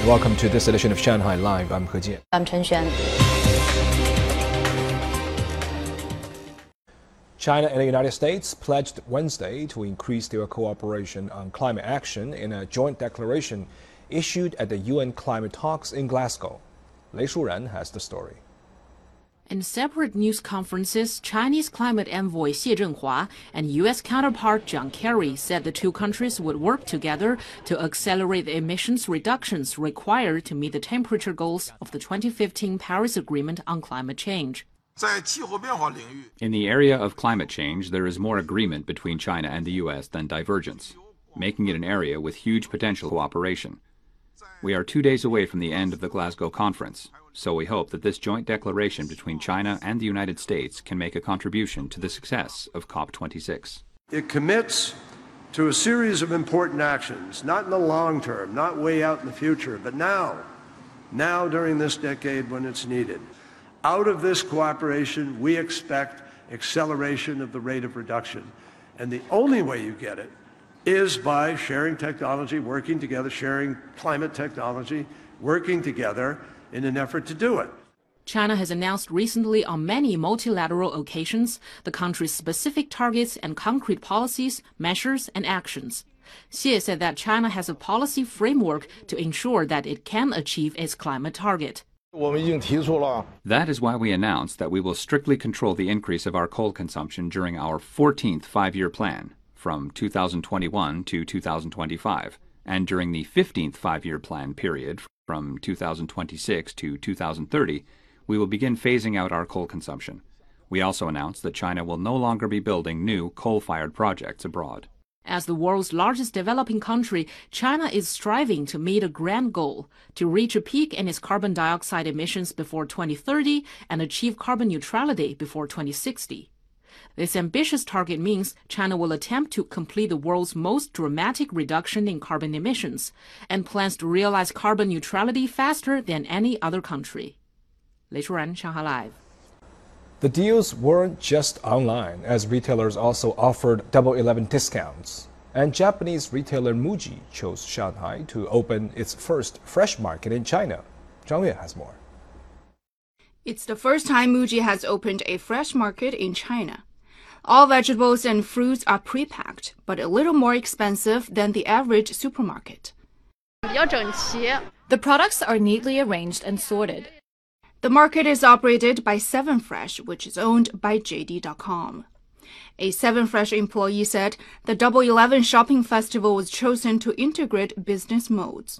Welcome to this edition of Shanghai Live. I'm He Jian. I'm Chen Xuan. China and the United States pledged Wednesday to increase their cooperation on climate action in a joint declaration issued at the UN climate talks in Glasgow. Lei Shuren has the story. In separate news conferences, Chinese climate envoy Xie Zhenhua and U.S. counterpart John Kerry said the two countries would work together to accelerate the emissions reductions required to meet the temperature goals of the 2015 Paris Agreement on climate change. In the area of climate change, there is more agreement between China and the U.S. than divergence, making it an area with huge potential cooperation. We are 2 days away from the end of the Glasgow conference, so we hope that this joint declaration between China and the United States can make a contribution to the success of COP26. It commits to a series of important actions, not in the long term, not way out in the future, but now during this decade when it's needed. Out of this cooperation, we expect acceleration of the rate of reduction. And the only way you get it is by sharing technology, working together, sharing climate technology, working together in an effort to do it. China has announced recently on many multilateral occasions the country's specific targets and concrete policies, measures, and actions. Xie said that China has a policy framework to ensure that it can achieve its climate target. That is why we announced that we will strictly control the increase of our coal consumption during our 14th five-year plan, from 2021 to 2025, and during the 15th five-year plan period, from 2026 to 2030, we will begin phasing out our coal consumption. We also announced that China will no longer be building new coal-fired projects abroad. As the world's largest developing country, China is striving to meet a grand goal, to reach a peak in its carbon dioxide emissions before 2030 and achieve carbon neutrality before 2060. This ambitious target means China will attempt to complete the world's most dramatic reduction in carbon emissions and plans to realize carbon neutrality faster than any other country. Lei Shuren, Shanghai Live. The deals weren't just online, as retailers also offered Double 11 discounts. And Japanese retailer Muji chose Shanghai to open its first fresh market in China. Zhang Yue has more. It's the first time Muji has opened a fresh market in China. All vegetables and fruits are pre-packed, but a little more expensive than the average supermarket. The products are neatly arranged and sorted. The market is operated by 7Fresh, which is owned by JD.com. A 7Fresh employee said the Double 11 shopping festival was chosen to integrate business modes.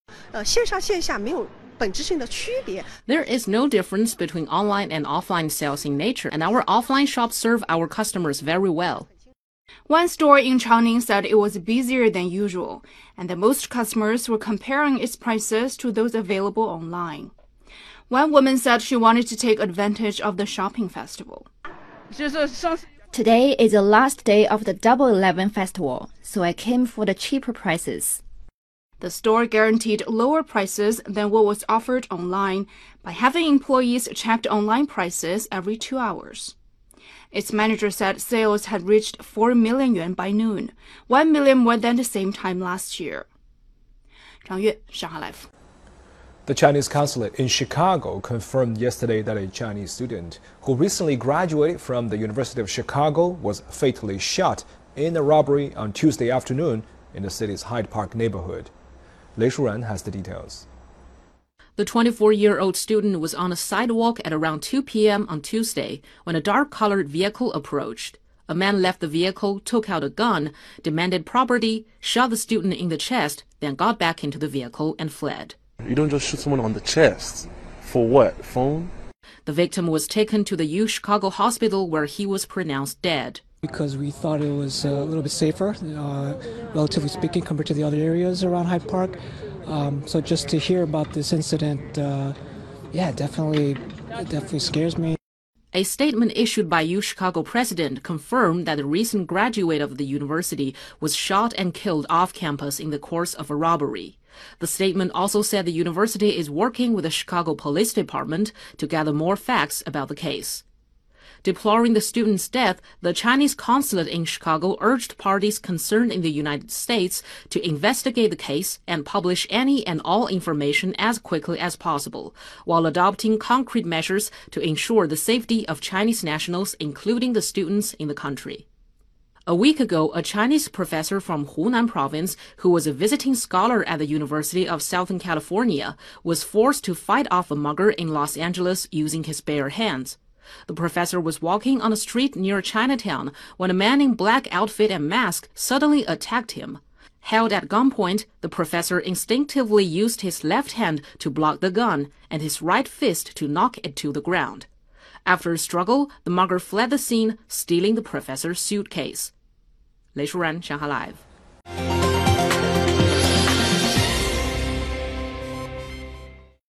There is no difference between online and offline sales in nature, and our offline shops serve our customers very well. One store in Changning said it was busier than usual, and that most customers were comparing its prices to those available online. One woman said she wanted to take advantage of the shopping festival. Today is the last day of the Double 11 festival, so I came for the cheaper prices. The store guaranteed lower prices than what was offered online by having employees check online prices every 2 hours. Its manager said sales had reached 4 million yuan by noon, 1 million more than the same time last year. Zhang Yue, Shanghai Live. The Chinese consulate in Chicago confirmed yesterday that a Chinese student who recently graduated from the University of Chicago was fatally shot in a robbery on Tuesday afternoon in the city's Hyde Park neighborhood. Lei Shuren has the details. The 24-year-old student was on a sidewalk at around 2 p.m. on Tuesday when a dark-colored vehicle approached. A man left the vehicle, took out a gun, demanded property, shot the student in the chest, then got back into the vehicle and fled. You don't just shoot someone on the chest. For what? Phone? The victim was taken to the U Chicago hospital where he was pronounced dead. Because we thought it was a little bit safer, relatively speaking, compared to the other areas around Hyde Park. So just to hear about this incident, it definitely scares me. A statement issued by U Chicago president confirmed that the recent graduate of the university was shot and killed off campus in the course of a robbery. The statement also said the university is working with the Chicago Police Department to gather more facts about the case. Deploring the student's death, the Chinese consulate in Chicago urged parties concerned in the United States to investigate the case and publish any and all information as quickly as possible, while adopting concrete measures to ensure the safety of Chinese nationals, including the students in the country. A week ago, a Chinese professor from Hunan province, who was a visiting scholar at the University of Southern California, was forced to fight off a mugger in Los Angeles using his bare hands. The professor was walking on a street near Chinatown when a man in black outfit and mask suddenly attacked him. Held at gunpoint, the professor instinctively used his left hand to block the gun and his right fist to knock it to the ground. After a struggle, the mugger fled the scene, stealing the professor's suitcase. 雷淑然，上海 Live。